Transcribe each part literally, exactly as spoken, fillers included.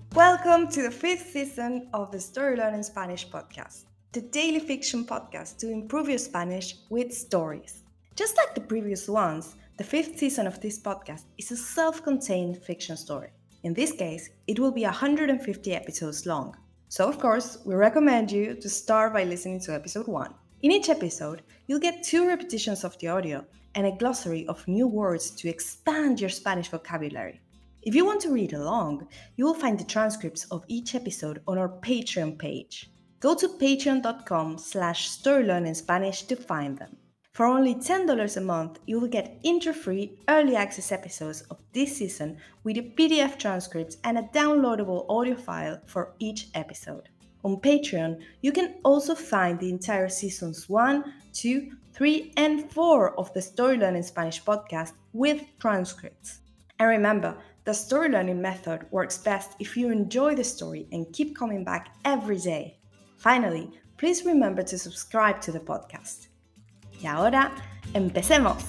Welcome to the fifth season of the Story Learning Spanish podcast, the daily fiction podcast to improve your Spanish with stories. Just like the previous ones, the fifth season of this podcast is a self-contained fiction story. In this case, it will be one hundred fifty episodes long. So of course, we recommend you to start by listening to episode one. In each episode, you'll get two repetitions of the audio and a glossary of new words to expand your Spanish vocabulary. If you want to read along, you will find the transcripts of each episode on our Patreon page. Go to patreon.com slash storylearningspanish to find them. For only ten dollars a month, you will get intro-free early access episodes of this season with a P D F transcripts and a downloadable audio file for each episode. On Patreon, you can also find the entire seasons one, two, three, and four of the Story Learning Spanish podcast with transcripts. And remember, the story learning method works best if you enjoy the story and keep coming back every day. Finally, please remember to subscribe to the podcast. Y ahora, empecemos.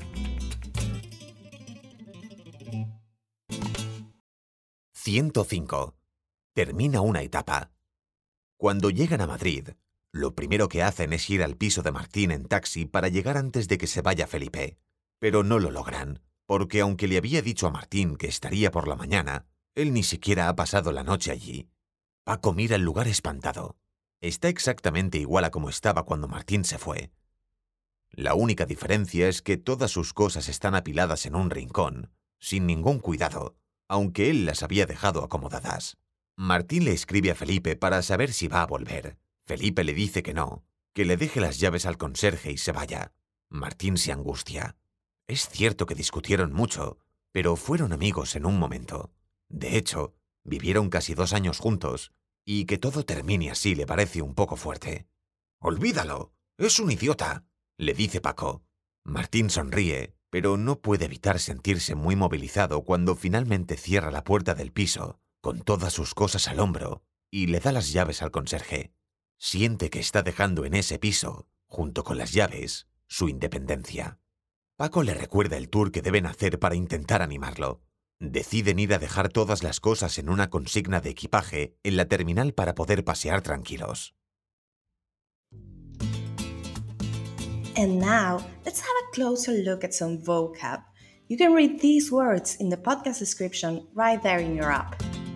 ciento cinco. Termina una etapa. Cuando llegan a Madrid, lo primero que hacen es ir al piso de Martín en taxi para llegar antes de que se vaya Felipe. Pero no lo logran, porque aunque le había dicho a Martín que estaría por la mañana, él ni siquiera ha pasado la noche allí. Paco mira el lugar espantado. Está exactamente igual a como estaba cuando Martín se fue. La única diferencia es que todas sus cosas están apiladas en un rincón, sin ningún cuidado, aunque él las había dejado acomodadas. Martín le escribe a Felipe para saber si va a volver. Felipe le dice que no, que le deje las llaves al conserje y se vaya. Martín se angustia. Es cierto que discutieron mucho, pero fueron amigos en un momento. De hecho, vivieron casi dos años juntos, y que todo termine así le parece un poco fuerte. «Olvídalo, es un idiota», le dice Paco. Martín sonríe, pero no puede evitar sentirse muy movilizado cuando finalmente cierra la puerta del piso, con todas sus cosas al hombro, y le da las llaves al conserje. Siente que está dejando en ese piso, junto con las llaves, su independencia. Paco le recuerda el tour que deben hacer para intentar animarlo. Deciden ir a dejar todas las cosas en una consigna de equipaje en la terminal para poder pasear tranquilos. And now, let's have a closer look at some vocab. You can read these words in the podcast description right there in your app.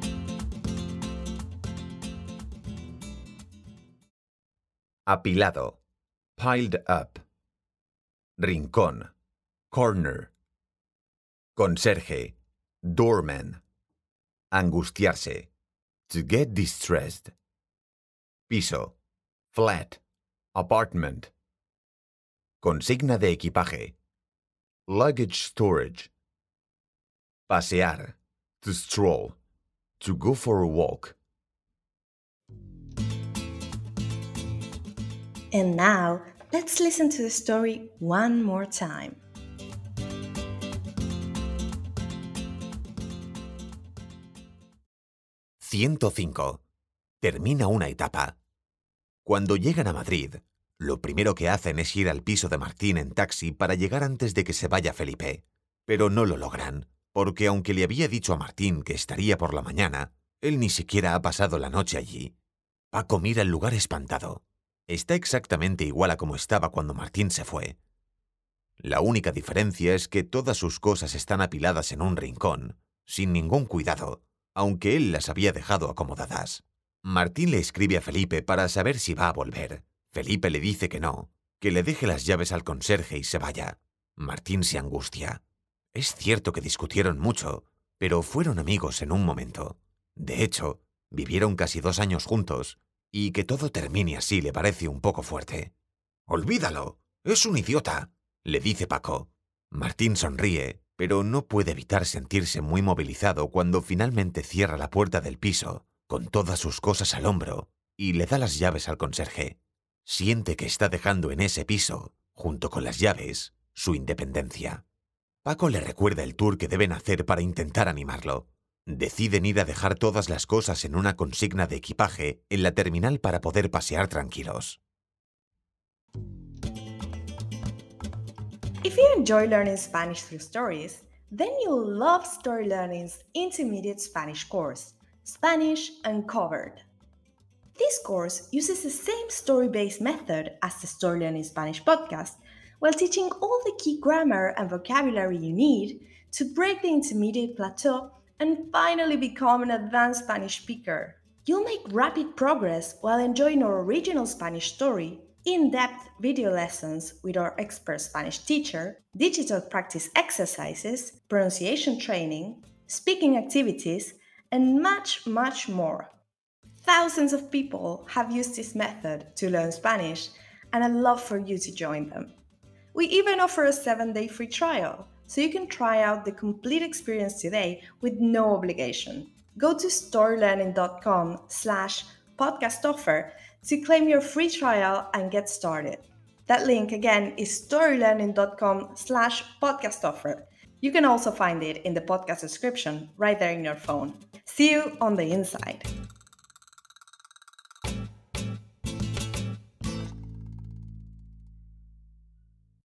Apilado, piled up. Rincón, corner. Conserje, doorman. Angustiarse, to get distressed. Piso, flat, apartment. Consigna de equipaje, luggage storage. Pasear, to stroll, to go for a walk. And now, let's listen to the story one more time. ciento cinco. Termina una etapa. Cuando llegan a Madrid, lo primero que hacen es ir al piso de Martín en taxi para llegar antes de que se vaya Felipe. Pero no lo logran, porque aunque le había dicho a Martín que estaría por la mañana, él ni siquiera ha pasado la noche allí. Paco mira el lugar espantado. Está exactamente igual a como estaba cuando Martín se fue. La única diferencia es que todas sus cosas están apiladas en un rincón, sin ningún cuidado, aunque él las había dejado acomodadas. Martín le escribe a Felipe para saber si va a volver. Felipe le dice que no, que le deje las llaves al conserje y se vaya. Martín se angustia. Es cierto que discutieron mucho, pero fueron amigos en un momento. De hecho, vivieron casi dos años juntos, y que todo termine así le parece un poco fuerte. «Olvídalo, es un idiota», le dice Paco. Martín sonríe, pero no puede evitar sentirse muy movilizado cuando finalmente cierra la puerta del piso, con todas sus cosas al hombro, y le da las llaves al conserje. Siente que está dejando en ese piso, junto con las llaves, su independencia. Paco le recuerda el tour que deben hacer para intentar animarlo. Deciden ir a dejar todas las cosas en una consigna de equipaje en la terminal para poder pasear tranquilos. If you enjoy learning Spanish through stories, then you'll love Story Learning's intermediate Spanish course. Spanish Uncovered. This course uses the same story-based method as the Story Learning Spanish podcast, while teaching all the key grammar and vocabulary you need to break the intermediate plateau and finally become an advanced Spanish speaker. You'll make rapid progress while enjoying our original Spanish story, in-depth video lessons with our expert Spanish teacher, digital practice exercises, pronunciation training, speaking activities, and much, much more. Thousands of people have used this method to learn Spanish, and I'd love for you to join them. We even offer a seven-day free trial, so you can try out the complete experience today with no obligation. Go to storylearning.com slash podcast offer to claim your free trial and get started. That link again is storylearning.com slash podcast offer. You can also find it in the podcast description right there in your phone. See you on the inside.